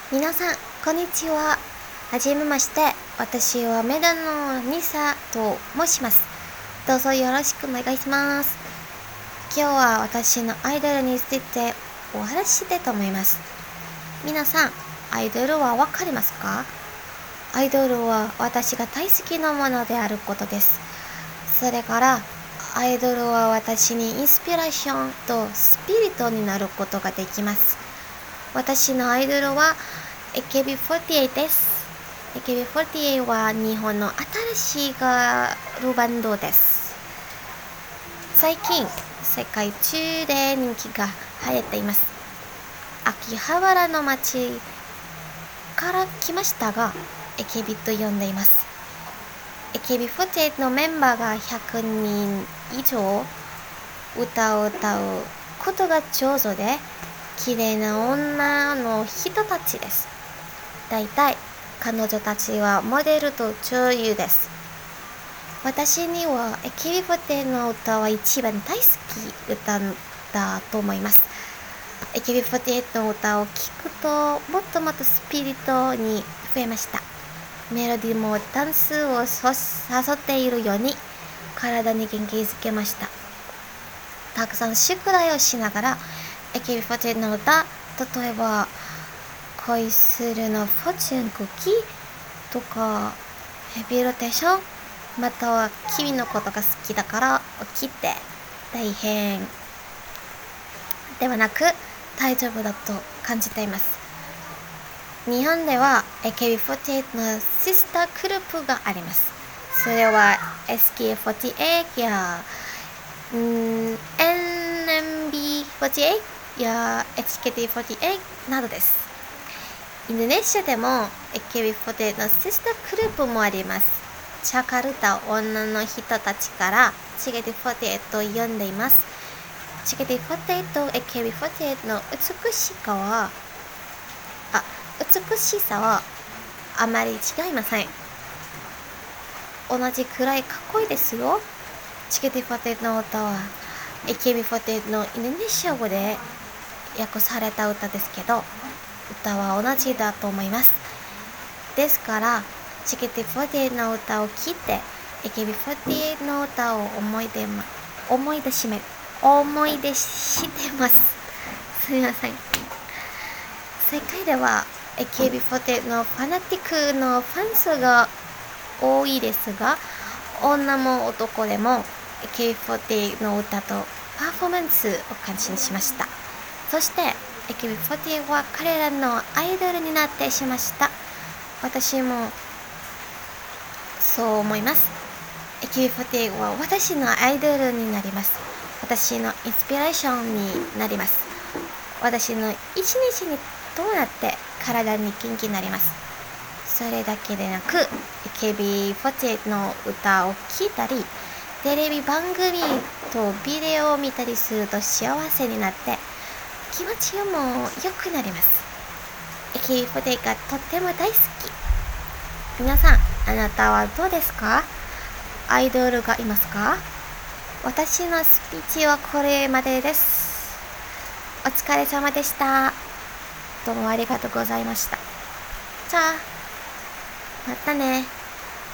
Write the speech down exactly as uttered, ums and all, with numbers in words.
皆さん、こんにちは。はじめまして。私はメダのニサと申します。どうぞよろしくお願いします。今日は私のアイドルについてお話ししたいと思います。皆さん、アイドルはわかりますか？アイドルは私が大好きなものであることです。それから、アイドルは私にインスピレーションとスピリットになることができます。私のアイドルは エーケービーフォーティーエイト です。エーケービーフォーティーエイト は日本の新しいガールバンドです。最近、世界中で人気が流行っています。秋葉原の街から来ましたが、エーケービー と呼んでいます。エーケービーフォーティーエイト のメンバーがひゃくにん以上、歌を歌うことが上手で、綺麗な女の人たちです。だいたい彼女たちはモデルと女優です。私には エーケービーフォーティーエイト の歌は一番大好き歌だと思います。エーケービーフォーティーエイト の歌を聴くともっともっとスピリットに増えました。メロディーもダンスを誘っているように体に元気づけました。たくさん宿題をしながら エーケービーフォーティーエイト の歌、例えば恋するのフォーチュンクッキーとかヘビーローテーション、または君のことが好きだから起きて大変ではなく大丈夫だと感じています。日本では エーケービーフォーティーエイト のシスターグループがあります。それは エスケーフォーティーエイト やん エヌエムビーフォーティーエイト や エイチケーティーフォーティーエイト などです。インドネシアでも エーケービーフォーティーエイト のシスターグループもあります。ジャカルタ女の人たちからジェケティーフォーティーエイト と呼んでいます。ジェケティーフォーティーエイト、エーケービーフォーティーエイト の美しさはあ美しさはあまり違いません。同じくらいかっこいいですよ。ジェケティーフォーティーエイト の歌は エーケービーフォーティーエイト のインドネシア語で訳された歌ですけど、歌は同じだと思います。ですから、ジェケティーフォーティーエイト の歌を聴いて、エーケービーフォーティーエイト の歌を思い出ま、思い出しめ、思い出してます。すみません。世界では エーケービーフォーティーエイト のファナティックのファン数が多いですが、女も男でも エーケービーフォーティーエイト の歌とパフォーマンスを感心しました。そして エーケービーフォーティーエイト は彼らのアイドルになってしました。私もそう思います。 エーケービーフォーティーエイト は私のアイドルになります。私のインスピレーションになります。私の一日にどうなって体に元気になります。それだけでなく エーケービーフォーティーエイト の歌を聴いたり、テレビ番組とビデオを見たりすると幸せになって気持ちも良くなります。 エーケービーフォーティーエイト がとっても大好き。皆さん、あなたはどうですか？アイドルがいますか？私のスピーチはこれまでです。お疲れ様でした。どうもありがとうございました。じゃあまたね。